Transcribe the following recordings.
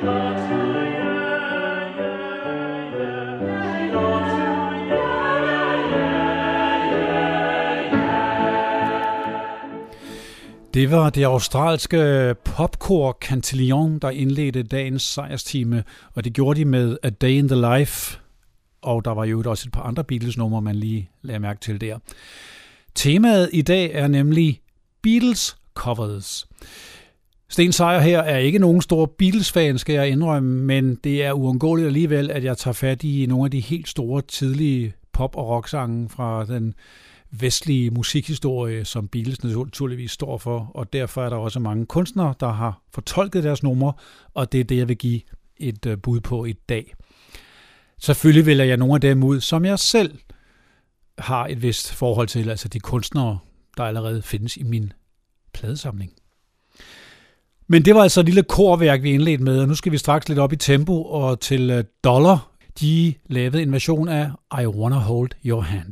Det var det australske popkor Cantillon, der indledte dagens sejrstime, og det gjorde de med A Day in the Life, og der var jo også et par andre Beatles-numre, man lige lagde mærke til der. Temaet i dag er nemlig Beatles covers. Sten Sejer her er ikke nogen stor Beatles-fan, skal jeg indrømme, men det er uundgåeligt alligevel, at jeg tager fat i nogle af de helt store tidlige pop- og rocksange fra den vestlige musikhistorie, som Beatles naturligvis står for, og derfor er der også mange kunstnere, der har fortolket deres numre, og det er det, jeg vil give et bud på i dag. Selvfølgelig vælger jeg nogle af dem ud, som jeg selv har et vist forhold til, altså de kunstnere, der allerede findes i min pladesamling. Men det var altså et lille korværk, vi indledte med, og nu skal vi straks lidt op i tempo, og til Dollar, de lavede en version af I Wanna Hold Your Hand.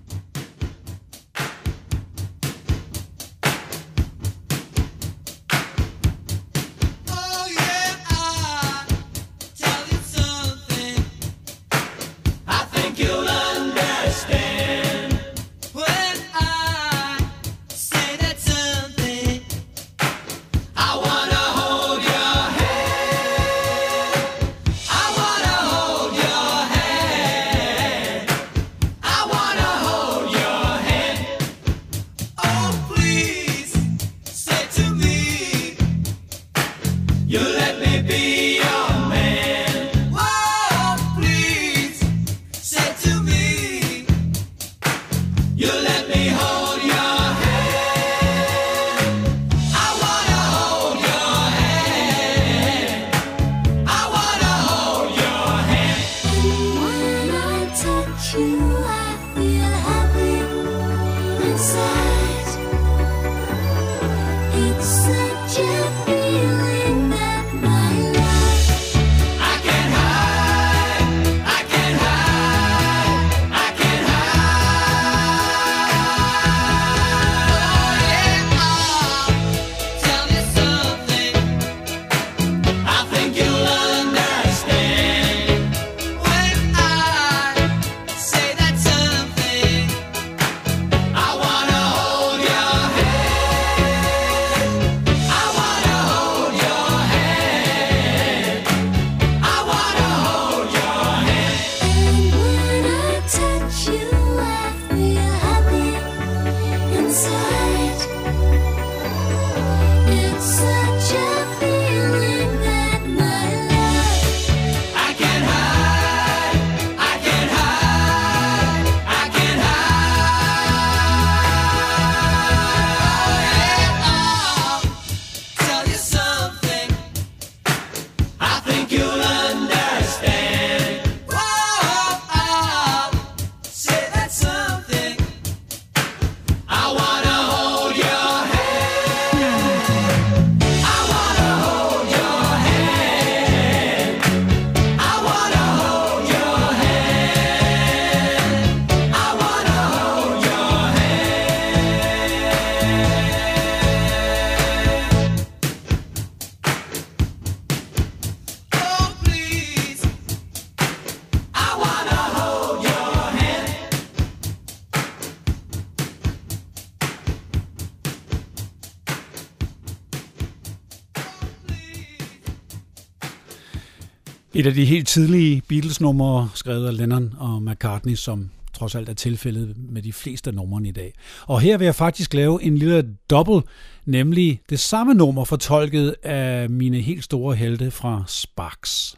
Et af de helt tidlige Beatles-numre, skrevet af Lennon og McCartney, som trods alt er tilfældet med de fleste numrene i dag. Og her vil jeg faktisk lave en lille double, nemlig det samme nummer fortolket af mine helt store helte fra Sparks.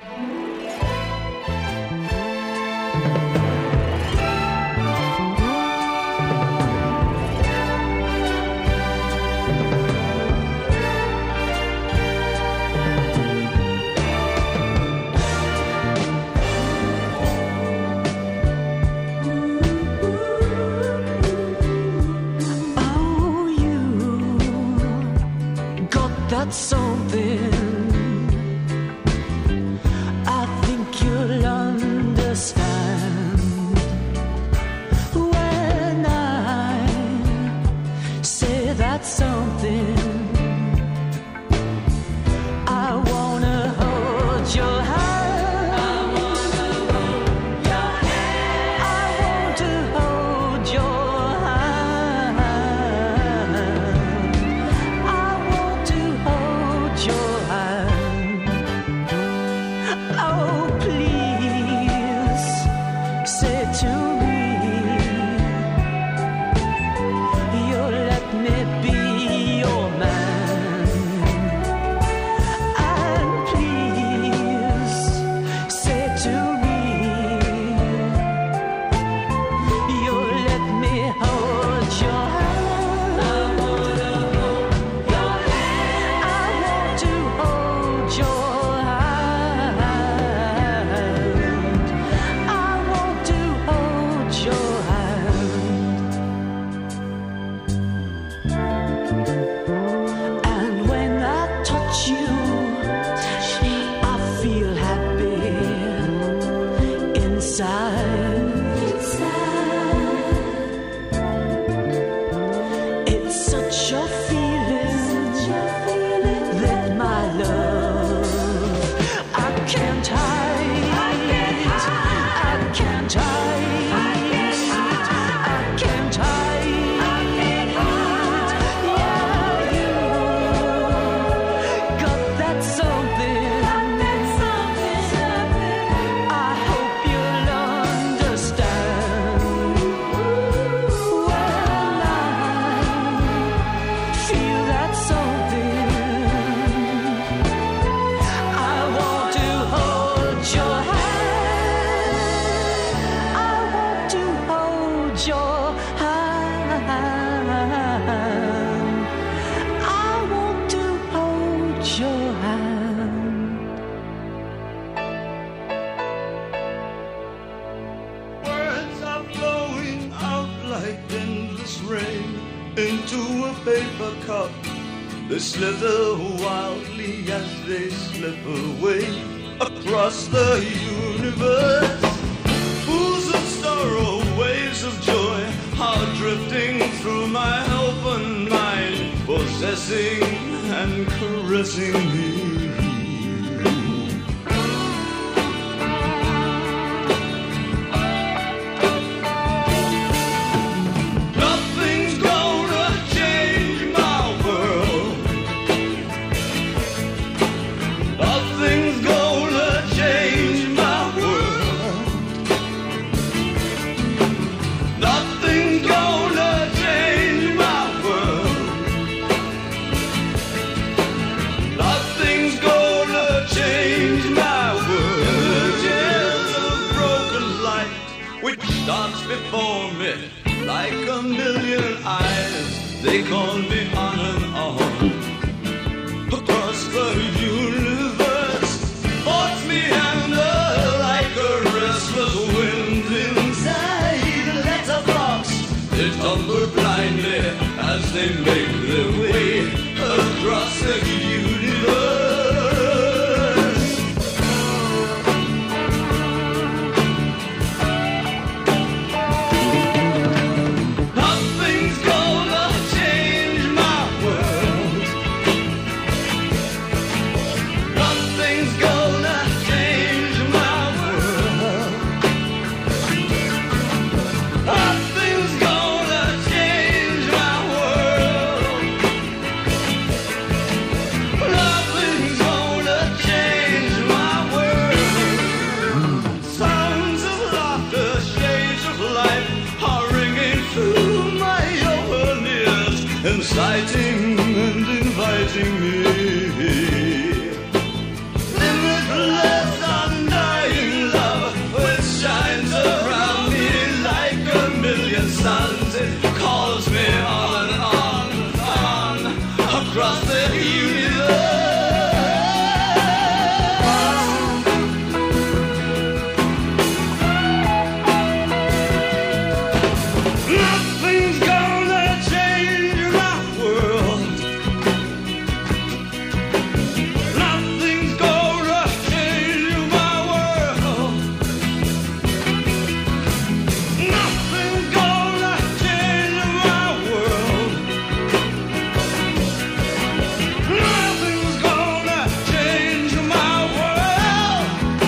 That's something I think you'll understand when I say that's something I wanna hold They slither wildly as they slip away across the universe. Pools of sorrow, waves of joy are drifting through my open mind, possessing and caressing me. Before me, like a million eyes, they call me on and on. Across the universe, force me under like a restless wind inside a letterbox. They tumble blindly as they make their way across the universe. Inciting and inviting me, limitless undying love, which shines around me like a million suns. It calls me on and on and on across the universe. Nothing's gonna change my world. Nothing's gonna change my world. Nothing's gonna change my world. Nothing's gonna change my world.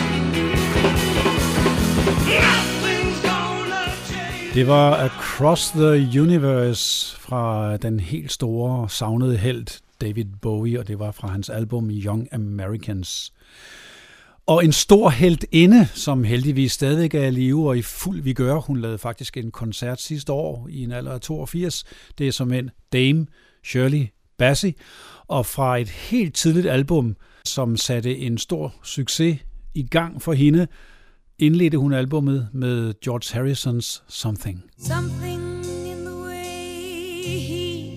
Nothing's gonna change. Det var Across the Universe fra den helt store, savnede helt David Bowie, og det var fra hans album Young Americans. Og en stor heltinde, som heldigvis stadig er i live og i fuld vigør. Hun lavede faktisk en koncert sidste år i en alder af 82. Det er som en Dame Shirley Bassey. Og fra et helt tidligt album, som satte en stor succes i gang for hende, indledte hun albummet med George Harrisons Something. Something in the way he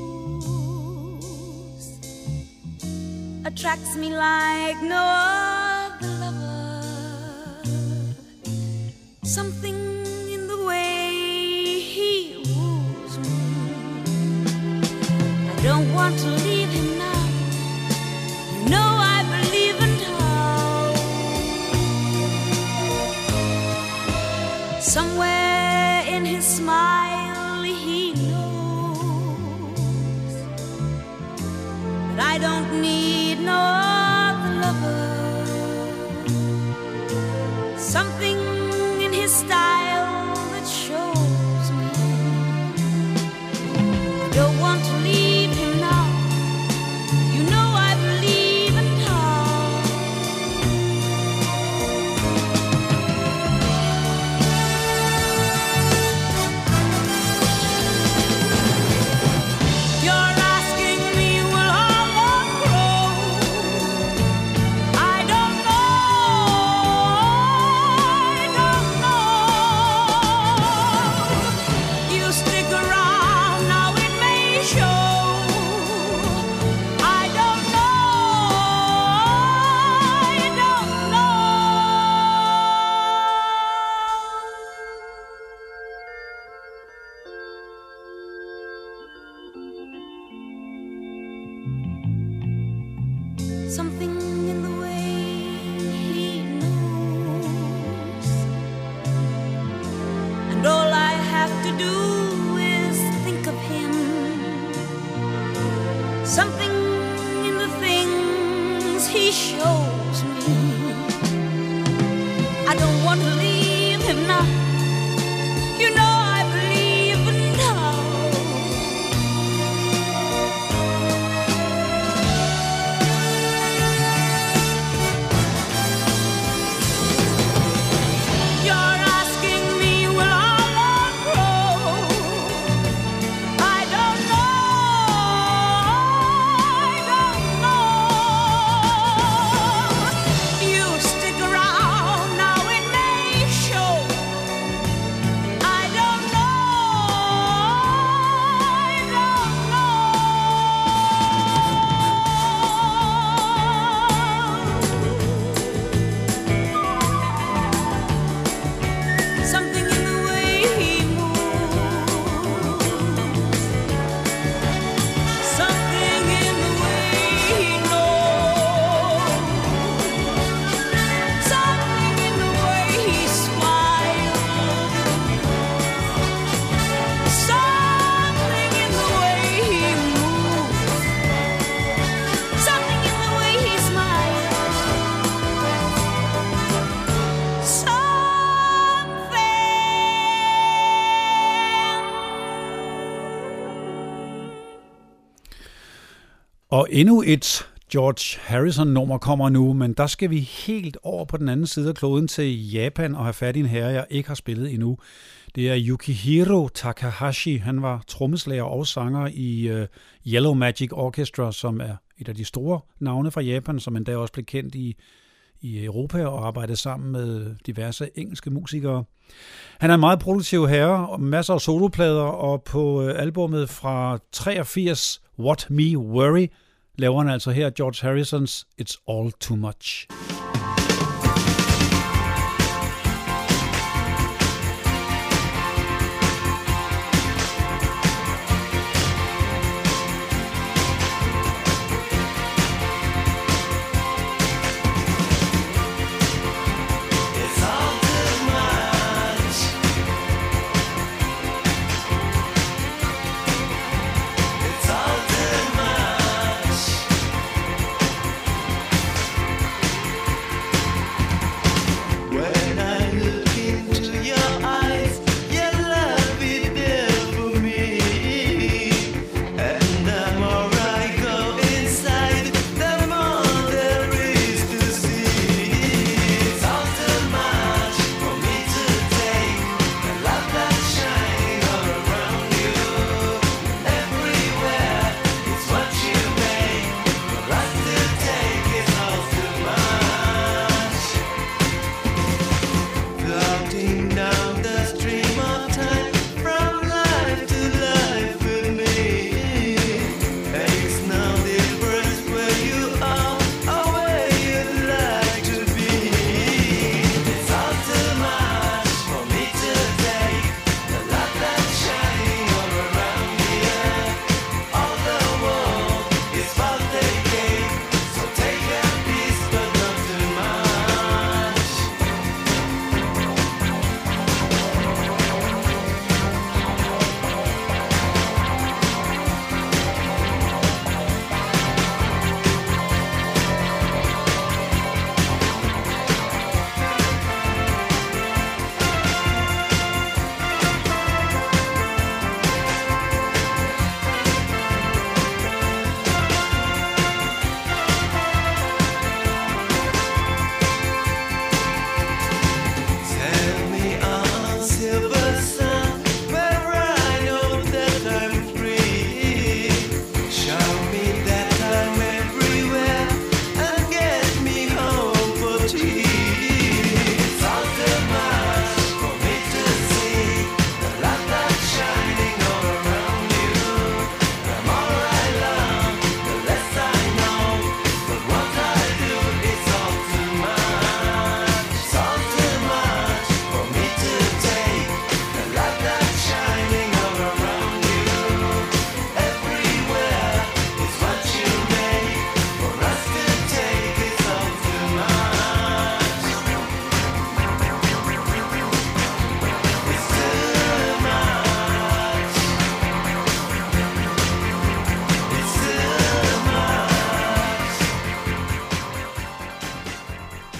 moves attracts me like no other lover. Something in the way he woos me. I don't want to leave him now. You know I believe in how. Somewhere in his smile he knows that I don't need no other lover. Something in his style that shows me I don't want to leave him now. You know I believe in how. something in the way he moves, and all I have to do is think of him. Something in the things he shows me. I don't want to leave him now. You know I believe now. You're asking me, will our love grow? I don't know. I don't know. You stick around now, it may show. I don't know. I don't know. Something in the way he moves, something in the way he knows, something in the way he smiles, something in the way he moves, something in the way he smiles, Og endnu et George Harrison-nummer kommer nu, men der skal vi helt over på den anden side af kloden til Japan og have fat i en herre, jeg ikke har spillet endnu. Det er Yukihiro Takahashi. Han var trommeslager og sanger i Yellow Magic Orchestra, som er et af de store navne fra Japan, som endda også blev kendt i Europa og arbejdede sammen med diverse engelske musikere. Han er en meget produktiv herre, og masser af soloplader, og på albummet fra 83, What Me Worry, laver han altså her George Harrisons It's All Too Much. It's all too much. It's all too much.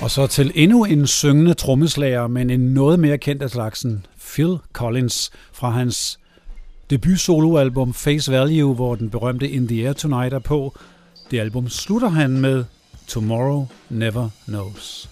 Og så til endnu en syngende trommeslager, men en noget mere kendt af slagsen, Phil Collins, fra hans debut-soloalbum Face Value, hvor den berømte In the Air Tonight er på. Det album slutter han med Tomorrow Never Knows.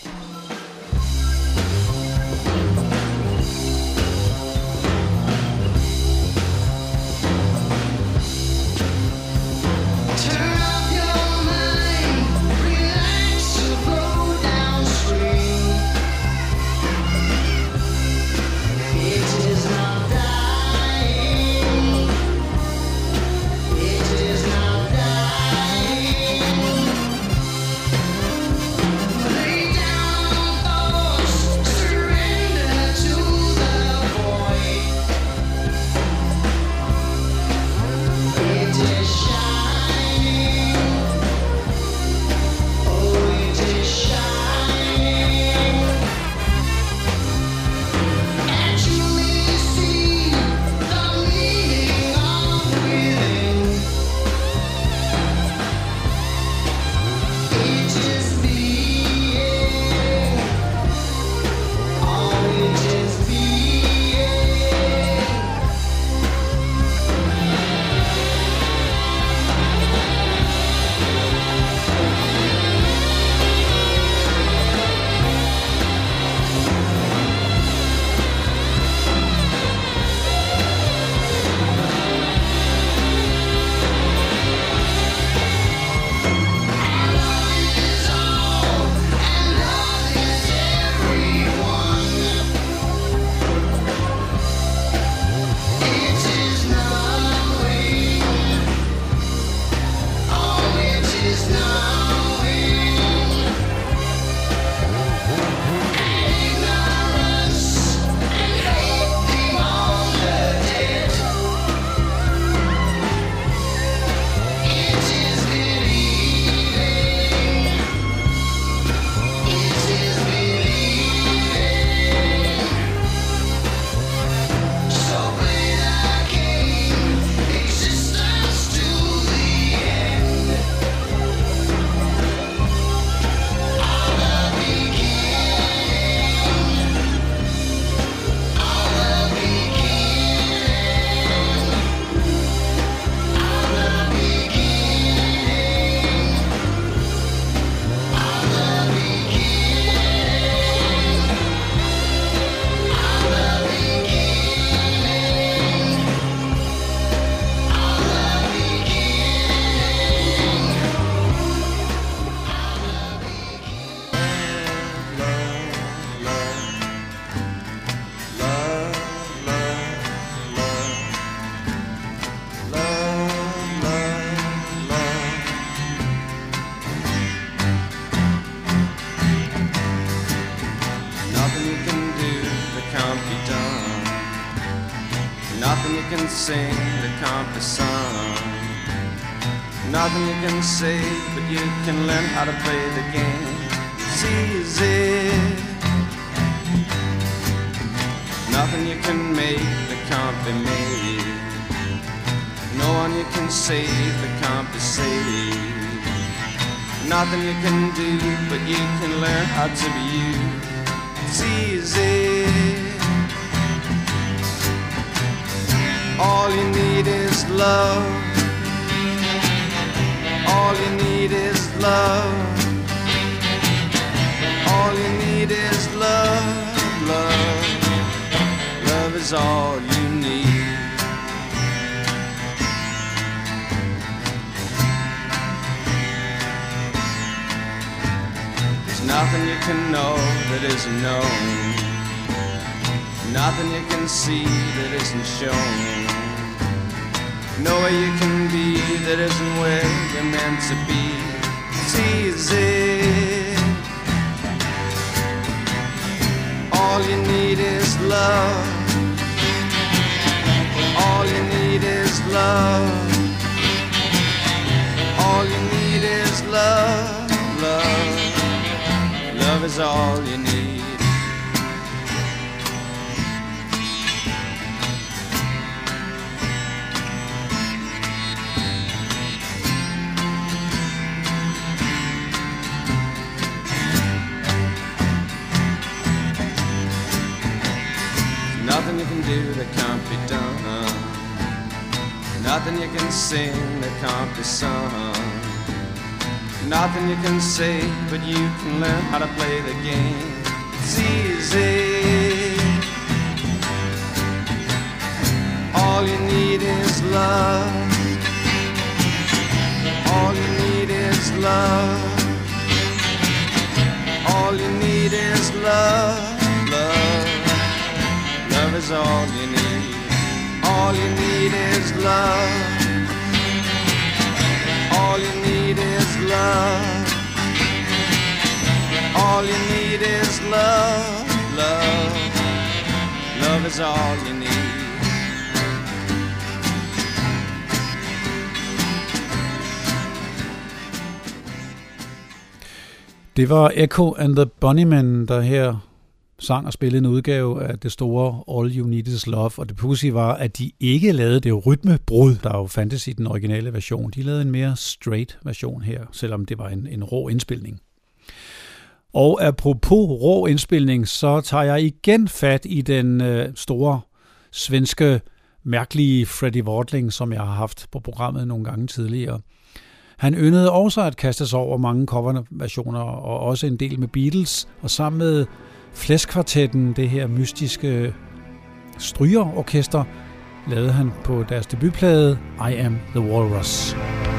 can sing that can't be sung. Nothing you can say, but you can learn how to play the game. It's easy. Nothing you can make that can't be made. No one you can save that can't be saved. Nothing you can do, but you can learn how to be you. It's easy. All you need is love. All you need is love. All you need is love, love. Love is all you need. There's nothing you can know that isn't known. Nothing you can see that isn't shown. Nowhere you can be that isn't where you're meant to be. It's easy. All you need is love. All you need is love. All you need is love, love. Love is all you need. Nothing you can sing that can't be sung. Nothing you can say, but you can learn how to play the game. It's easy. All you need is love. All you need is love. All you need is love. Love. Love is all you need. All you need is love. All you need is love. All you need is love. Love. Love is all you need. Det var Echo and the Bunnymen, der her sang og spillede en udgave af det store All You Need Is Love, og det pudsige var, at de ikke lavede det rytmebrud, der jo fandtes i den originale version. De lavede en mere straight version her, selvom det var en rå indspilning. Og apropos rå indspilning, så tager jeg igen fat i den store svenske, mærkelige Freddie Wadling, som jeg har haft på programmet nogle gange tidligere. Han yndede også at kaste sig over mange coverversioner, og også en del med Beatles, og sammen med Flæskvartetten, det her mystiske strygerorkester, lavede han på deres debutplade I Am the Walrus.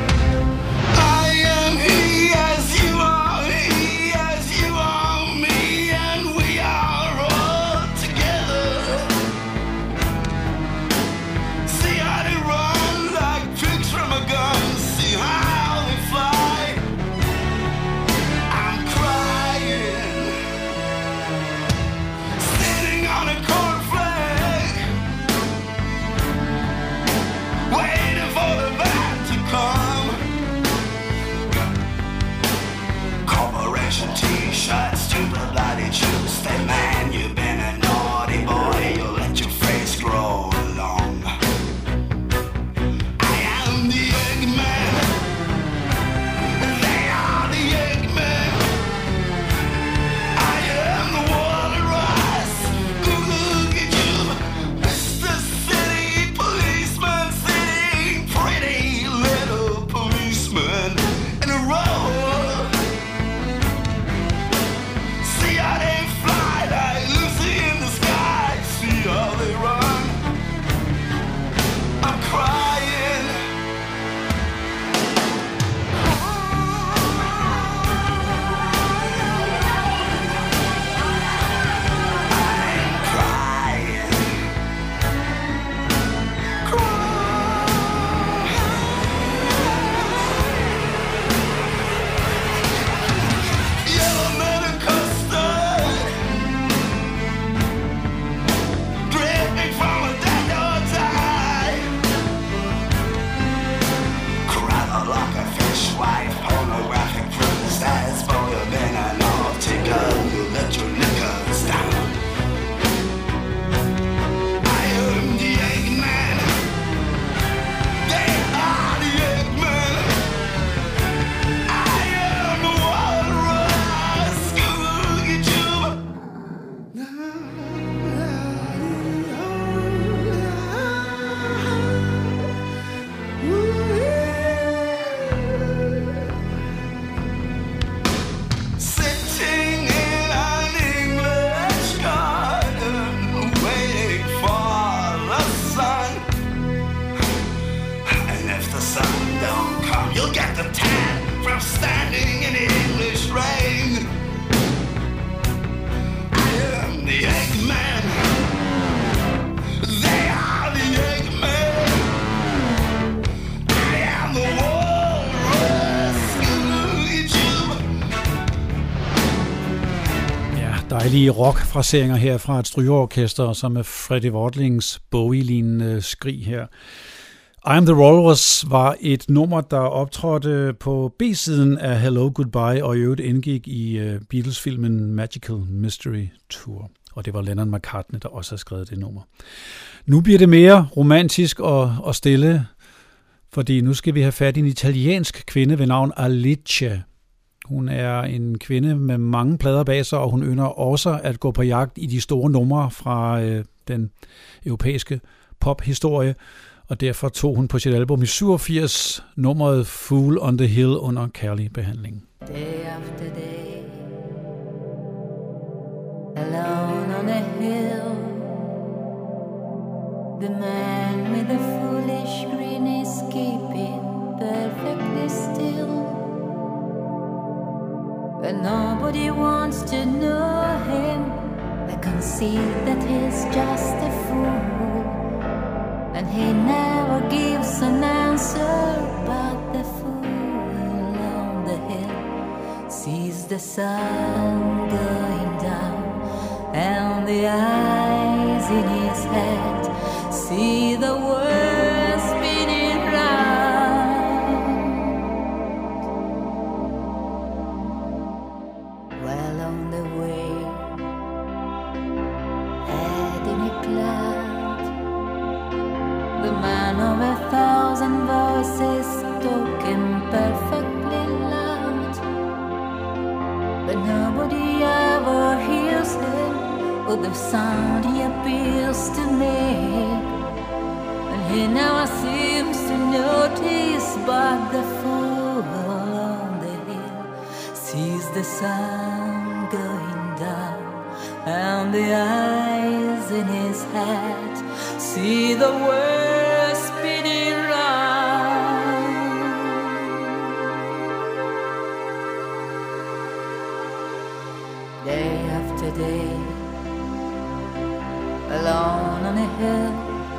Dejlige rock-fraseringer her fra et strygeorkester, som med Freddie Wadlings Bowie-lignende skrig her. I Am the Walrus var et nummer, der optrådte på B-siden af Hello Goodbye, og i øvrigt indgik i Beatles-filmen Magical Mystery Tour. Og det var Lennon McCartney, der også har skrevet det nummer. Nu bliver det mere romantisk og stille, fordi nu skal vi have fat i en italiensk kvinde ved navn Alice. Hun er en kvinde med mange plader bag sig, og hun ynder også at gå på jagt i de store numre fra den europæiske pophistorie. og derfor tog hun på sit album i 87 nummeret Fool on the Hill under kærlig behandling. Day after day, alone on a hill, the man with the foolish grin is keeping perfectly still. But nobody wants to know him. They concede that he's just a fool, and he never gives an answer. But the fool on the hill sees the sun going down, and the eyes in his head see the world spinning round. Well on the way, head in a cloud, the man of 1,000 voices talking perfectly loud, but nobody ever hears him with the sound he appeals to make. He never seems to notice, but the fool on the hill sees the sun going down, and the eyes in his head see the world spinning round. Day after day, alone on a hill,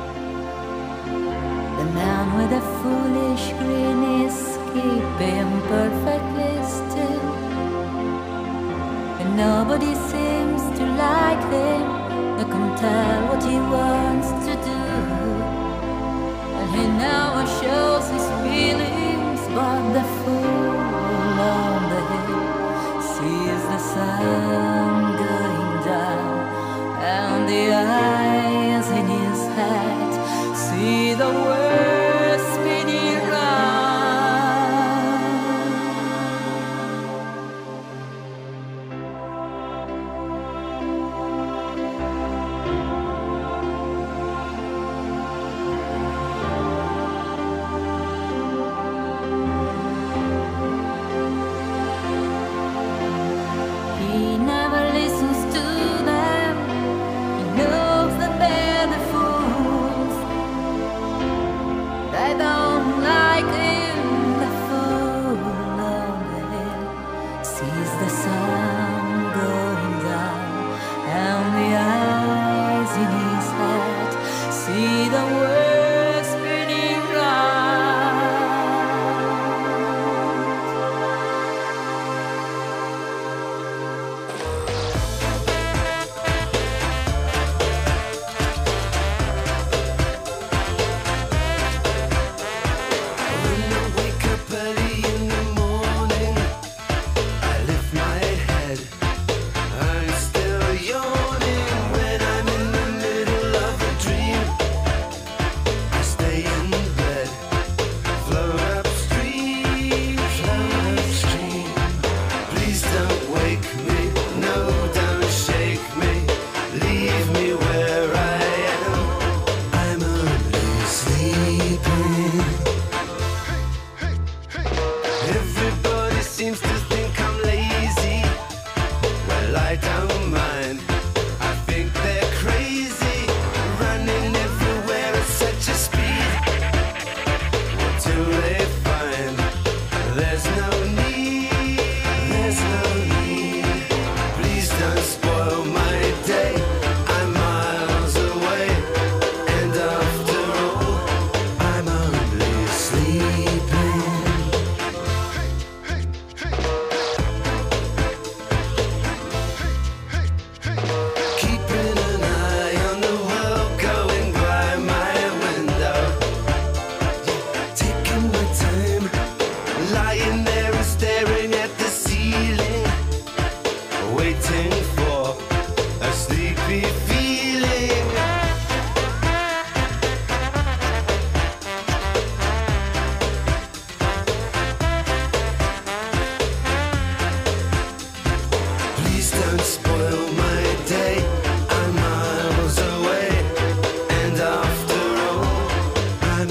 the man with a foolish grin is keeping perfectly still, and nobody seems to like him. No can tell what he wants to do, and he never shows his feelings. But the fool on the hill sees the sun going down, and the eyes in his head see the world spinning round. He never listens to them. He knows that they're the fools. They don't like him. The fool on the hill sees the sun going down, and the eyes in his head see the world spinning round. When I wake up early in the morning, I lift my head. I'm still yawning when I'm in the middle of a dream. I stay in bed, float upstream. Please don't wake me, no, don't shake me. Leave me where I am. I'm only sleeping. Everybody seems to think I'm lazy. Well, I don't mind. I think they're crazy, running everywhere at such a speed. What do they find? There's no need. Please don't spoil my day. I'm miles away, and after all, I'm only sleeping. Keeping an eye on the world going by my window. Taking my time, lying there and staring at the ceiling, waiting for a sleepy feeling. Please don't spoil my day. I'm miles away, and after all, I'm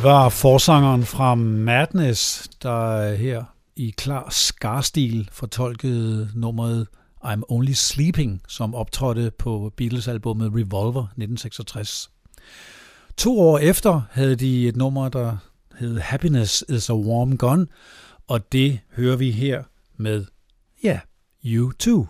Det var forsangeren fra Madness, der her i klar Scar-stil fortolkede nummeret I'm Only Sleeping, som optrådte på Beatles-albummet Revolver 1966. 2 år efter havde de et nummer, der hed Happiness is a Warm Gun, og det hører vi her med, ja, U2.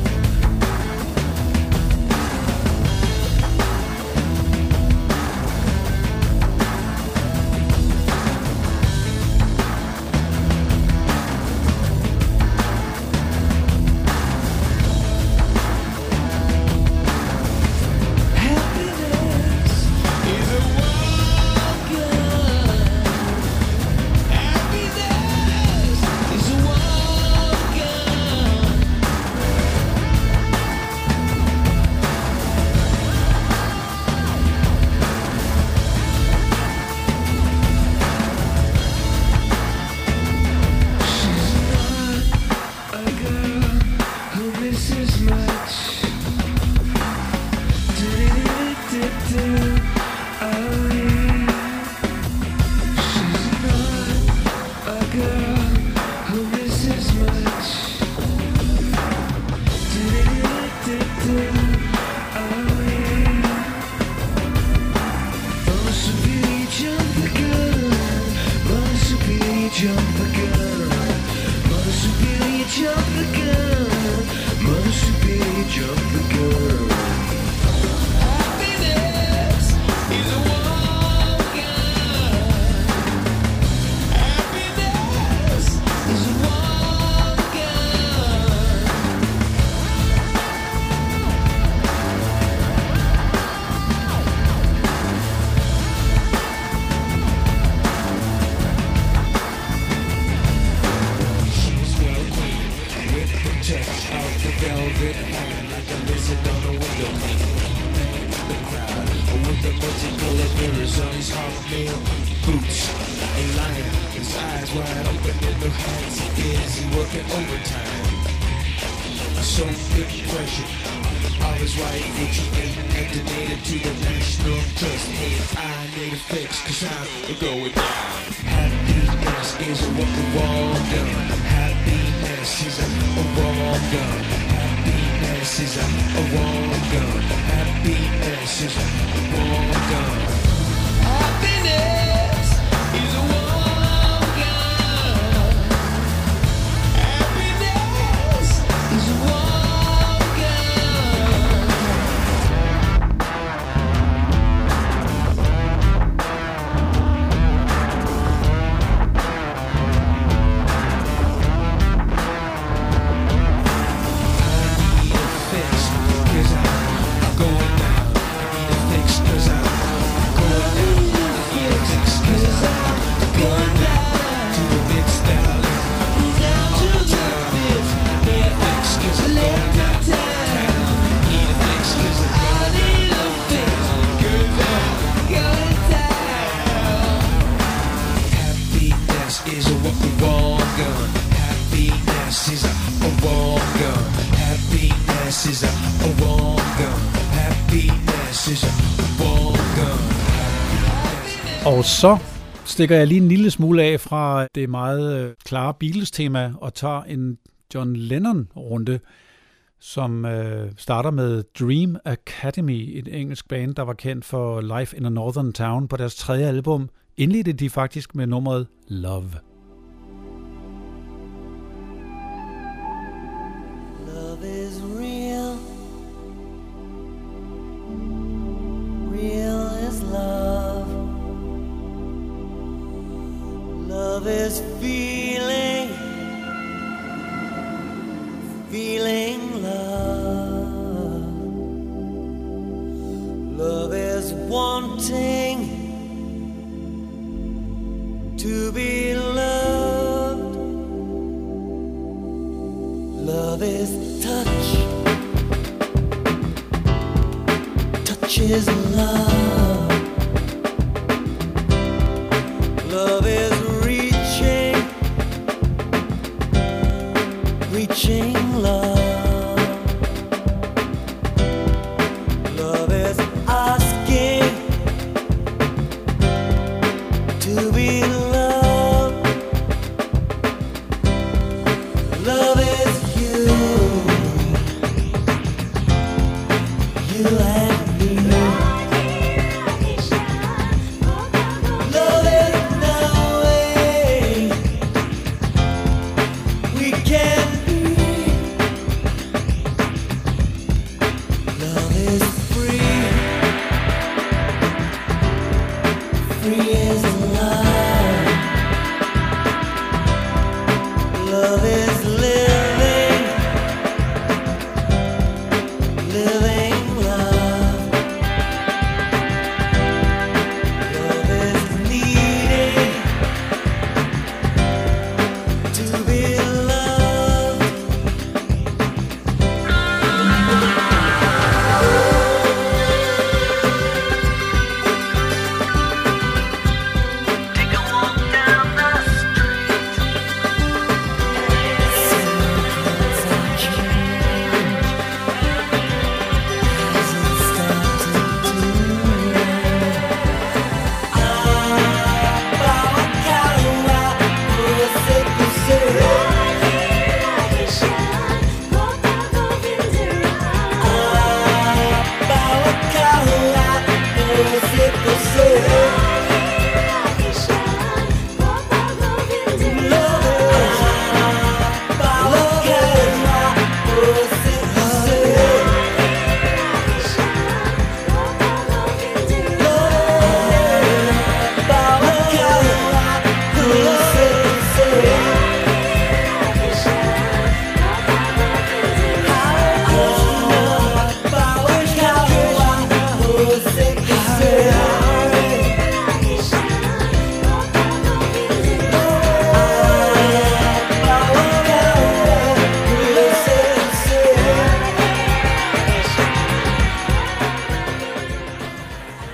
Og så stikker jeg lige en lille smule af fra det meget klare Beatles-tema og tager en John Lennon-runde, som starter med Dream Academy, et engelsk band, der var kendt for Life in a Northern Town. På deres 3. album indledte de faktisk med nummeret Love. Love is real. Real is love. Love is feeling, feeling love. Love is wanting to be loved. Love is touch. Touch is love. Love is reaching love. Love is asking to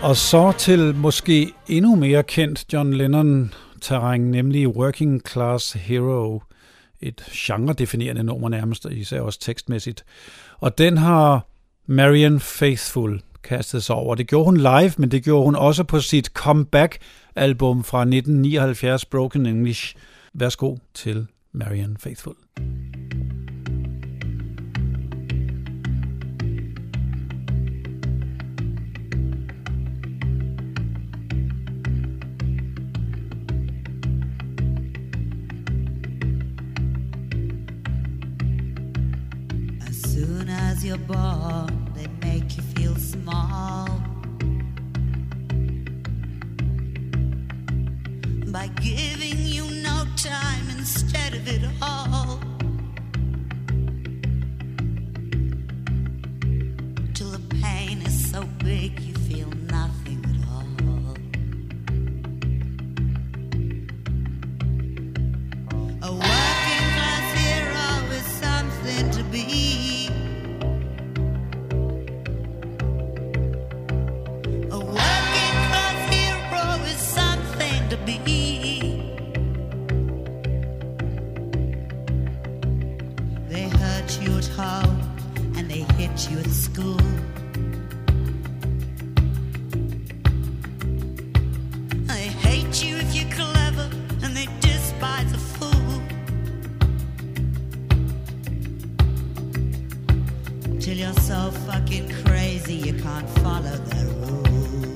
Og så til måske endnu mere kendt John Lennon-terræn, nemlig Working Class Hero. Et genre-definerende nummer nærmest, især også tekstmæssigt. Og den har Marianne Faithfull kastet sig over. Det gjorde hun live, men det gjorde hun også på sit comeback-album fra 1979, Broken English. Værsgo til Marianne Faithfull. Soon as you're born, they make you feel small by giving you no time instead of it all, till the pain is so big you feel nothing at all. A working class hero is something to be. They hurt you at home and they hit you at school. They hate you if you're clever and they despise a fool. Till you're so fucking crazy you can't follow their rules.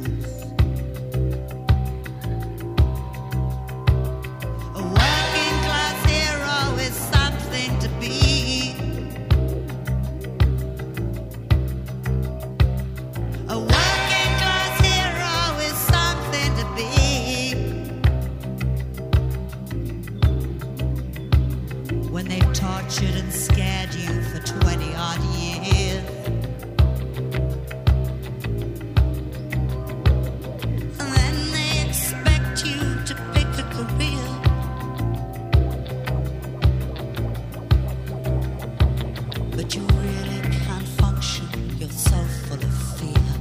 And scared you for 20 odd years, and then they expect you to pick a career, but you really can't function, you're so full of fear.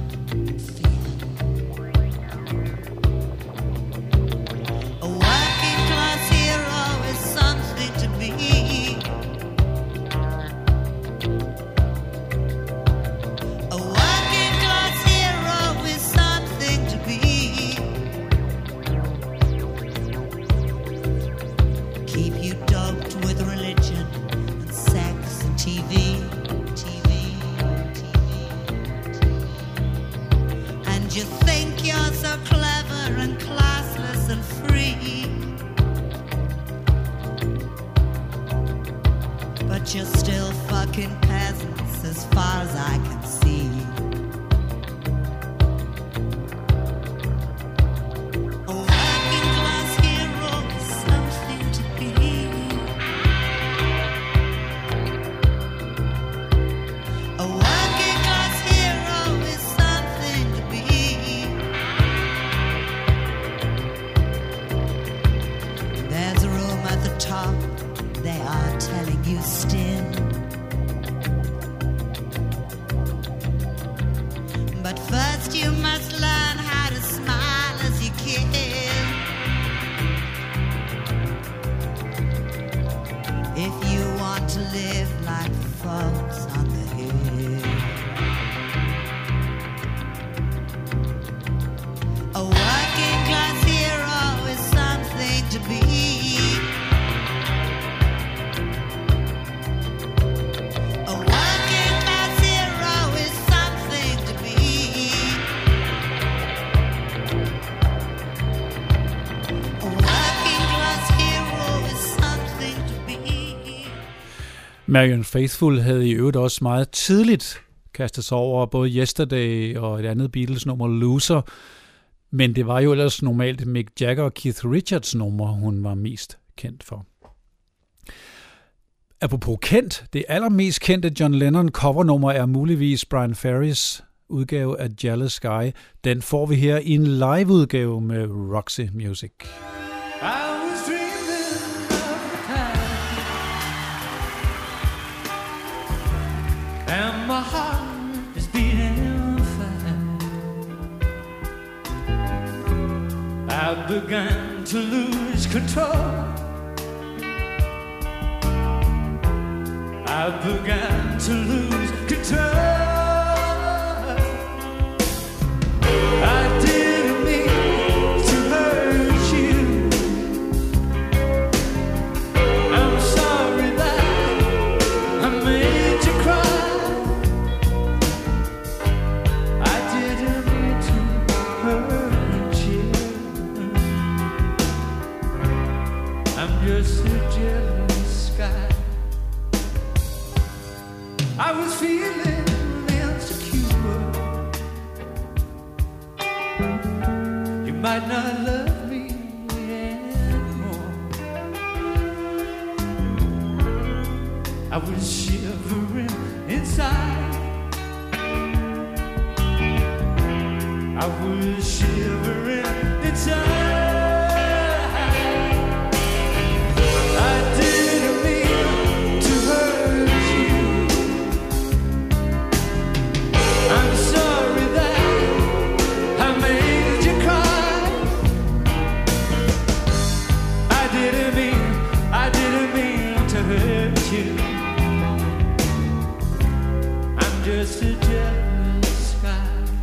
A working class hero is something to be. You're still fucking peasants as far as I can see. A working class hero is something to be. A working class hero is something to be. There's a room at the top, they are telling you still. But first you must learn how to smile as you can. If you want to live like the folks on the hill. A working class hero is something to be. Marianne Faithfull havde i øvrigt også meget tidligt kastet sig over både Yesterday og et andet Beatles-nummer, Loser. Men det var jo ellers normalt Mick Jagger og Keith Richards nummer, hun var mest kendt for. Apropos kendt, det allermest kendte John Lennon covernummer er muligvis Brian Ferrys udgave af Jealous Sky. Den får vi her i en liveudgave med Roxy Music. And my heart is beating fast. I began to lose control. I began to lose control. I didn't mean to hurt you. I'm sorry that I made you cry. I didn't mean to hurt you. I'm just a jealous guy. I was feeling insecure. You might not love me anymore. I was shivering inside. I was shivering inside. I didn't mean to hurt you. I'm sorry that I made you cry. I didn't mean to hurt you. I'm just a jealous guy.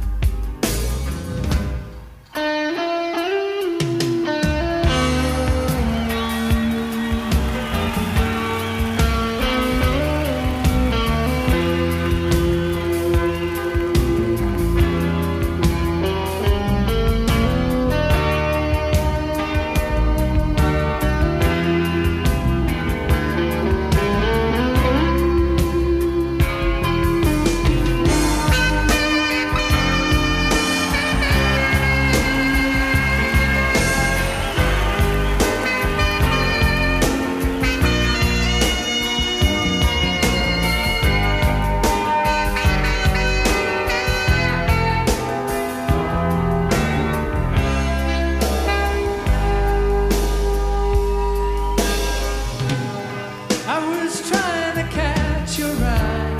I was trying to catch your eye.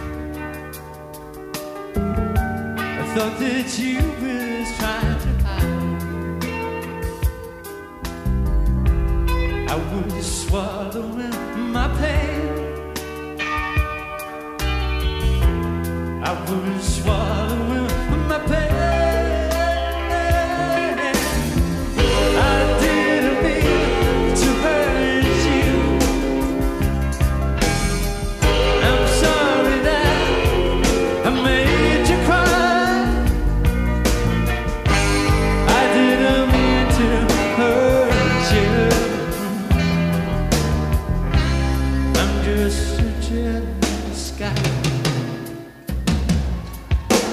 I thought that you was trying to hide. I was swallowing my pain. I was swallowing my pain. I didn't mean to hurt you. I'm sorry that I made you cry. I didn't mean to hurt you. I'm just a jealous guy.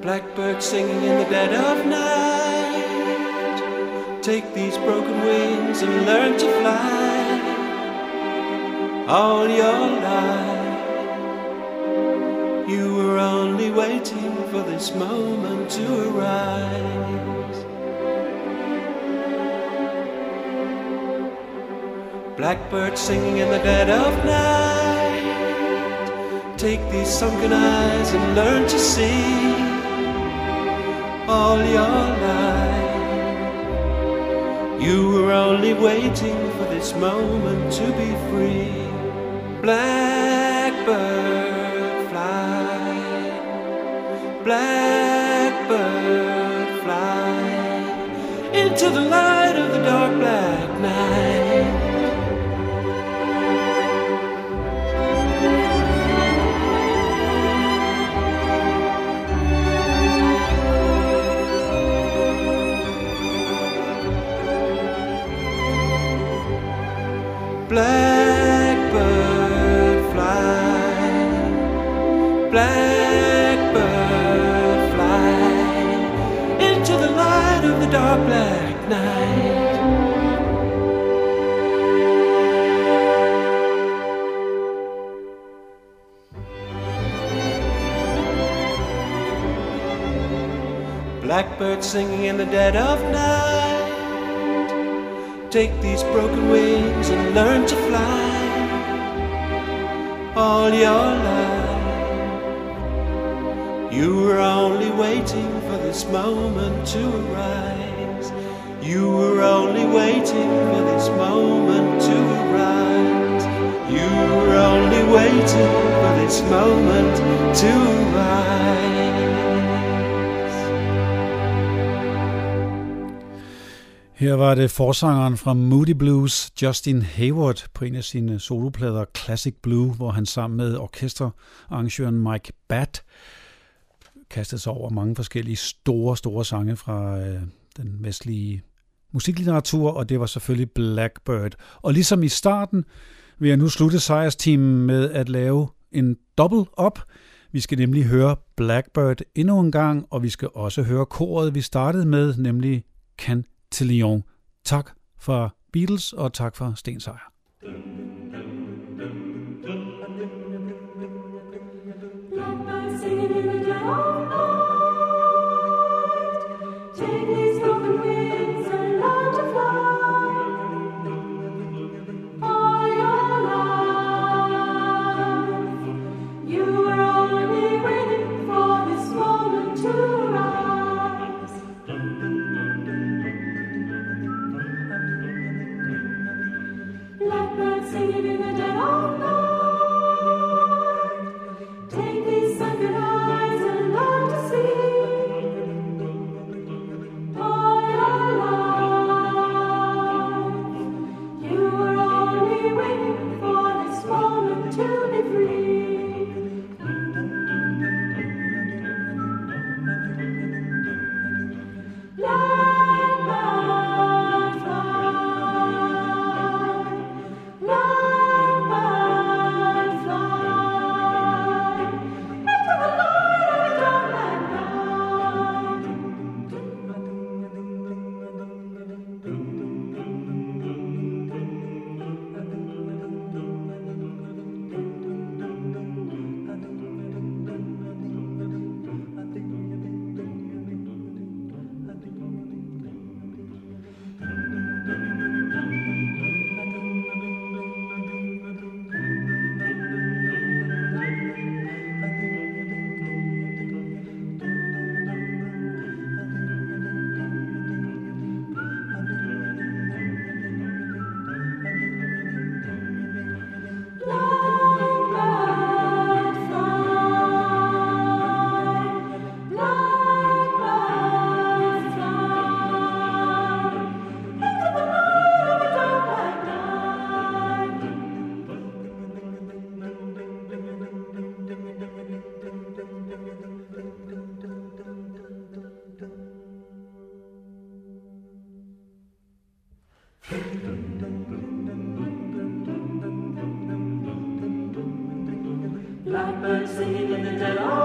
Blackbird singing in the dead of night. Take these broken wings and learn to fly. All your life you were only waiting for this moment to arise. Blackbird singing in the dead of night. Take these sunken eyes and learn to see. All your life you were only waiting for this moment to be free. Blackbird fly, blackbird fly into the light of the dark black night. Blackbird fly, blackbird fly into the light of the dark black night. Blackbird singing in the dead of night. Take these broken wings and learn to fly. All your life you were only waiting for this moment to arise. You were only waiting for this moment to arise. You were only waiting for this moment to arise. Her var det forsangeren fra Moody Blues, Justin Hayward, på en af sine soloplader Classic Blue, hvor han sammen med orkesterarrangøren Mike Batt kastede sig over mange forskellige store sange fra den vestlige musiklitteratur, og det var selvfølgelig Blackbird. Og ligesom i starten vil jeg nu slutte sejrsteamen med at lave en double up. Vi skal nemlig høre Blackbird endnu en gang, og vi skal også høre koret, vi startede med, nemlig Cantillon. Tak for Beatles, og tak for Sten Sejer. Blackbird singing in the dead of night. Take these broken wings and learn to fly. All your life you were only waiting for this moment to arise. Blackbird singing in the dead of night. Take these sunken eyes and learn to see. All your life you were only waiting for this moment to be free. Blackbird fly, blackbird fly into the light of the dark black night. Blackbird fly, blackbird fly into the light of the dark black night. Blackbird singing in the dead of